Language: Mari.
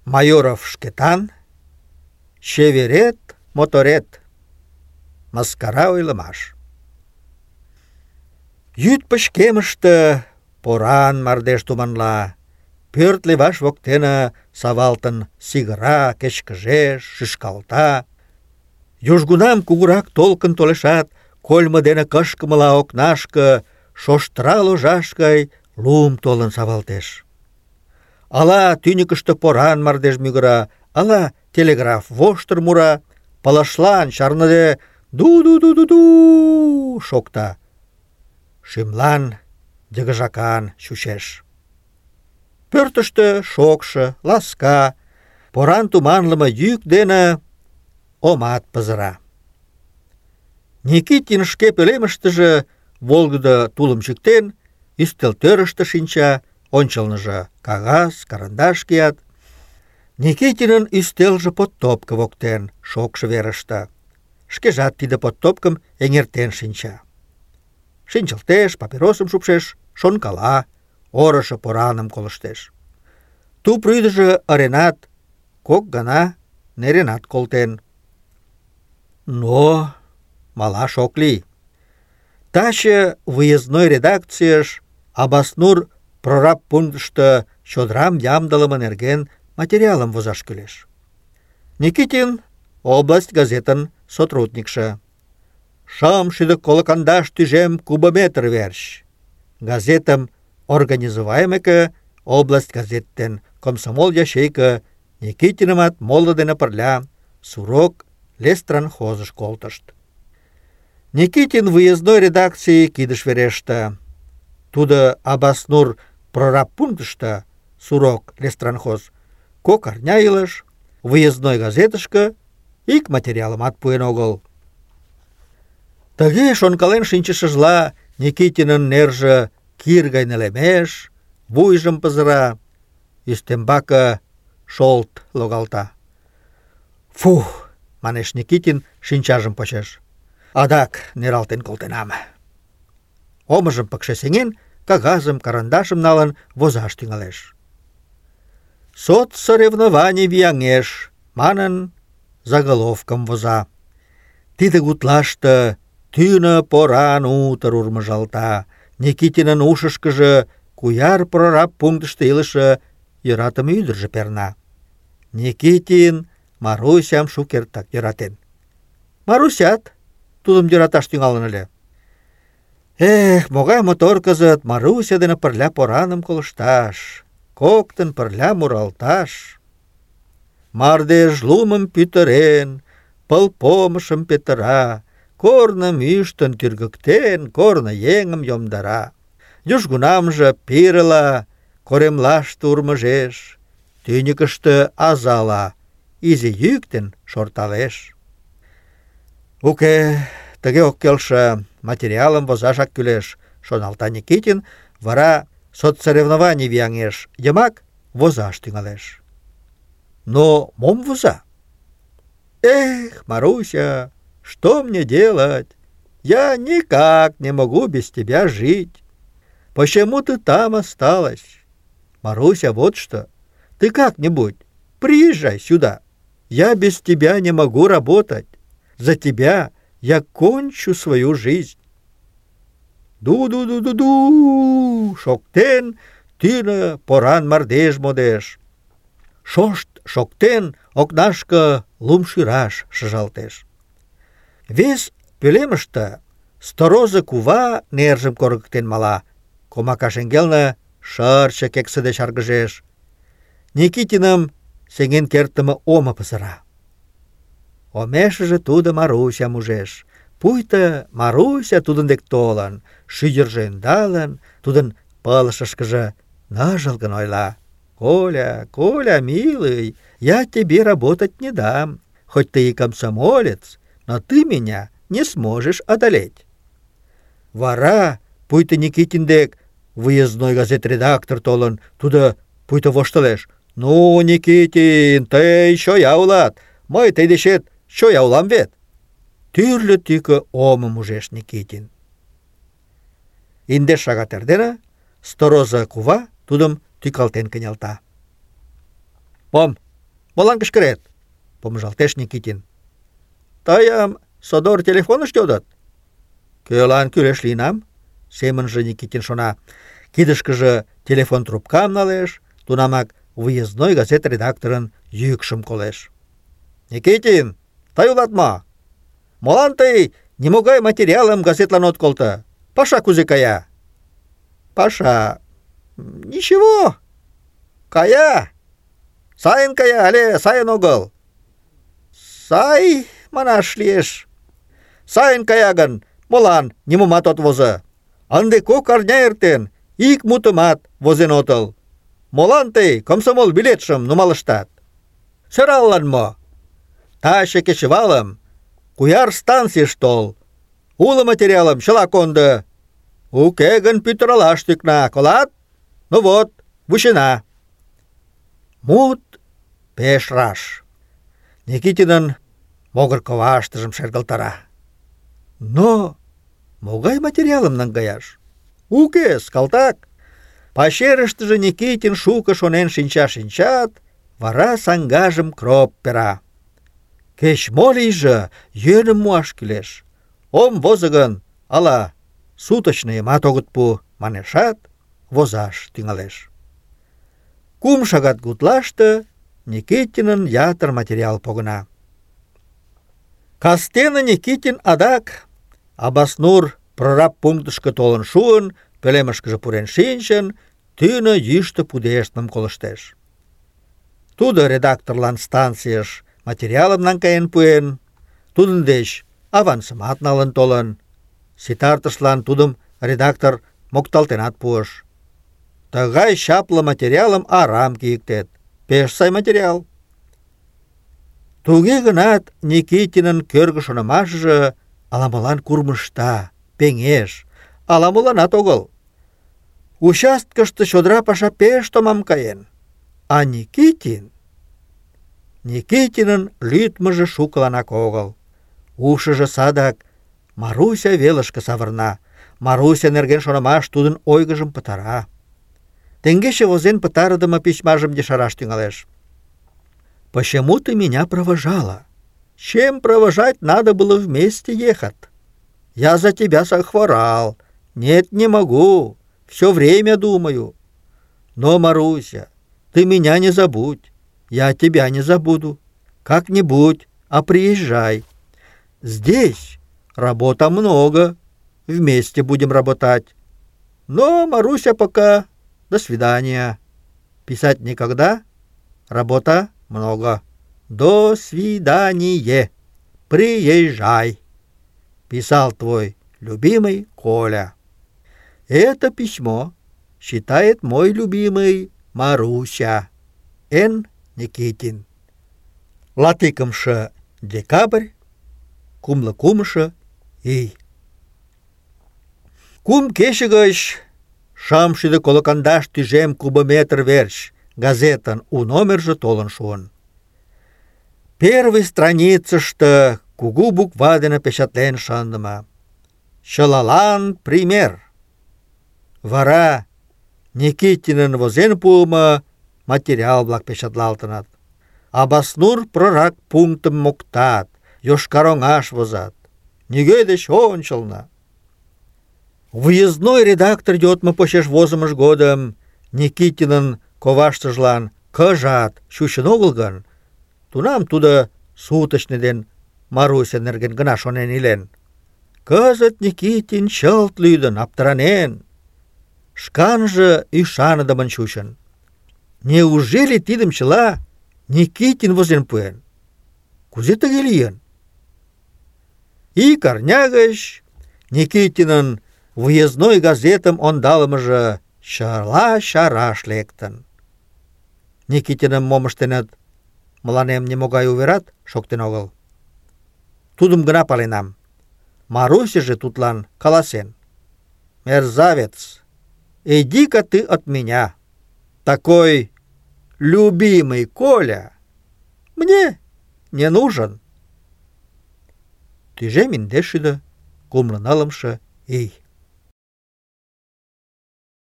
Майоров шкетан, чеверет, моторет. Мыскара ойлымаш. Йӱд пычкемыште поран мардеж туманла, пӧрт леваш воктене савалтын сигыра, кечкыжеш, шӱшкалта. Южгунам кугурак толкын толешат, кольмо дене кышкымыла окнашке шоштра ложаш гай лум толын савалтеш. Ала тӱньыкыштӧ поран мардеж мӱгыра, ала телеграф воштыр мура, пылышлан чарныде ду-ду-ду-ду-ду шокта. Шӱмлан йыгыжакан чучеш. Пӧртыштӧ шокшо, ласка, поран туманлыме йӱк дене омат пызыра. Никитин шке пӧлемыштыже волгыдо тулым чӱктен, ӱстелтӧрыштӧ шинча, ончылныжо кагаз, карандаш кият. Никитинын ӱстелже подтопко воктен, шокшо верыште. Шкежат тиде подтопкым эҥертен шинча. Шинчылтеш, папиросым шупшеш, шонкала, орышо пораным колыштеш. Туп рӱдыжӧ ыренат, кок гана неренат колтен. Но малаш ок лий. Таче выездной редакцийыш Абаснур прораб пунктышто чодырам ямдылыме нерген материалым возаш кӱлеш. Никитин область газетын сотрудникше. 650 тӱжем кубометр верч. Газетым организовайымеке, область газет ден комсомол ячейка Никитинымат моло дене пырля Сурок лестранхозыш колтышт. Никитин выездной редакций кидыш вереште. Тудо Абаснур прораб пунктышто, Сурок лестранхоз, кок арня илыш, выездной газетышке ик материалымат пуэн огыл. Тыге шонкален шинчышыжла Никитинын нерже кир гай нелемеш, вуйжым пызыра, ӱстембаке шолт логалта. «Фух!» — манеш Никитин, шинчажым почеш. «Адак нералтен колтенам». Омыжым пыкше сеҥен, кагазым, карандашым налын возаш тӱҥалеш. «Соцсоревнований вияҥеш» манын, заголовкым воза. Тиде гутлаште тӱнӧ поран утыр урмыжалта. Никитинын ушышкыжо куяр прораб пунктышто илыше йӧратыме ӱдыржӧ перна. Никитин Марусям шукертак йӧратен. Марусят тудым йӧраташ тӱҥалын ыле. Эх, могай мотор кызыт Маруся дене пырля пораным колышташ, коктын пырля муралташ. Мардеж лумым пӱтырен, пыл помышым петыра, корным ӱштын тӱргыктен, корно еҥым йомдара. Южгунамже пирыла коремлаште урмыжеш, тӱньыкыштӧ азала изи йӱк ден шорталеш. Уке, тыге ок келше, материалым возашак кӱлеш, шоналта Никитин, вара соцсоревнований вияҥеш йымак возаш тӱҥалеш. Но мом воза? Эх, Маруся, что мне делать? Я никак не могу без тебя жить. Почему ты там осталась? Маруся, вот что, ты как-нибудь приезжай сюда. Я без тебя не могу работать. За тебя я кончу свою жизнь. Ду-ду-ду-ду-ду, шоктен, тӱнӧ поран мардеж модеш. Шошт шоктен, окнашке лум шӱраш шыжалтеш. Вес пӧлемыште сторожо кува нержым коргыктен мала, комака шеҥгелне шырче кексыде чаргыжеш. Никитиным сеҥен кертдыме омо пызыра. Омешыже тудо Марусям ужеш. Пуйто Маруся тудын дек толын, шӱдыржӧ ӧндалын, тудын пылышышкыже ныжылгын ойла. «Коля, Коля, милый, я тебе работать не дам. Хоть ты и комсомолец, но ты меня не сможешь одолеть». Вара, пуйто Никитин дек выездной газет редактор толын, тудо пуйто воштылеш. «Ну, Никитин, тый чоя улат, мый тый дечет чоя улам вет». Тӱрлӧ тӱкӧ омым ужеш Никитин. Индеш шагат эрдене сторожо кува тудым тӱкалтен кынелта. «Мом, Молан кычкырет? Помыжалтеш Никитин. Тыйым содор телефоныш йодыт. Кӧлан кӱлеш лийынам? Семынже Никитин шона. Кидышкыже телефон трубкам налеш, тунамак выездной газет редакторын йӱкшым колеш. Никитин, тый улат мо? Молан тый нимогай материалым газетлан от колто? Паша кузе кая? Паша... Ничего. Кая. Сайын кая, але сайын огыл? Сай, манаш лиеш. Сайын кая гын, молан нимомат от возо? Ынде 2 арня эртен, ик мутымат возен отыл. Молан тый комсомол билетшым нумалыштат? Сӧраллан мо? Таче кечывалым Куяр станцийыш тол. Уло материалым чыла кондо. Уке гын пӱтыралаш тӱкна, колат? Ну вот, вучена. Мут пеш раш. Никитинын могыр коваштыжым шергылтара. Но могай материалым наҥгаяш? Укес, калтак. Пачерыштыже Никитин шуко шонен шинча-шинчат, вара саҥгажым кроп пера. Кеч-мо лийже, йӧным муаш кӱлеш. Ом возо гын, ала суточныйымат огыт пу, манешат, возаш тӱҥалеш. 2 шагат гутлаште Никитинын ятыр материал погына. Кастене Никитин адак Абаснур прораб пунктышко толын шуын, пӧлемышкыже пурен шинчын, тӱнӧ йӱштӧ пудештмым колыштеш. Тудо редакторлан станцийыш материалым наҥгаен пуэн, тудын деч авансымат налын толын. Ситартышлан тудым редактор мокталтенат пуыш. Тыгай чапле материалым арам кийыктет. Пеш сай материал. Туге гынат Никитинын кӧргӧ шонымашыже ала-молан курмышта, пеҥеш, ала-моланат огыл. Участкыште чодыра паша пеш томам каен. А Никитинын лӱдмыжӧ шукыланак огыл. Ушыжо садак Маруся велышке савырна. Маруся нерген шонымаш тудын ойгыжым пытара. Теҥгече возен пытарыдыме письмажым ешараш тӱҥалеш. «Почему ты меня провожала? Чем провожать надо было вместе ехать? Я за тебя захворал. Нет, не могу. Все время думаю. Но, Маруся, ты меня не забудь. Я тебя не забуду. Как-нибудь, а приезжай. Здесь работа много. Вместе будем работать. Но, Маруся, пока до свидания. Писать никогда. Работа много. До свидания. Приезжай. Писал твой любимый Коля». Это письмо считает мой любимый Маруся. Н. Никитин. 20 декабрь, кумло кумшо ий. 2 кече гыч 650 тӱжем кубометр верч газетын у номерже толын шуын. Первый страницыште кугу буква дене печатлен шындыме: «Чылалан пример». Вара Никитинын возен пуымо материал-влак печатлалтыныт. Абаснур прораб пунктым моктат, Йошкар-Оҥаш возат. Нигӧ деч ончылно. Выездной редактор йодмо почеш возымыж годым Никитинын коваштыжлан кыжат чучын огыл гын, тунам тудо суточный ден Маруся нерген гына шонен илен. Кызыт Никитин чылт лӱдын, аптыранен, шканже ӱшаныдымын чучын. Неужели тидым чыла Никитин возен пуэн? Кузе тыге лийын? Ик арня гыч Никитинын выездной газетым ондалымыже чыла чараш лектын. Никитиным мом ыштеныт, мыланем нимогай уверат шоктен огыл. Тудым гына паленам. Марусяже тудлан каласен: «Мерзавец, иди-ка ты от меня. Такой любимый Коля мне не нужен». 250 ий.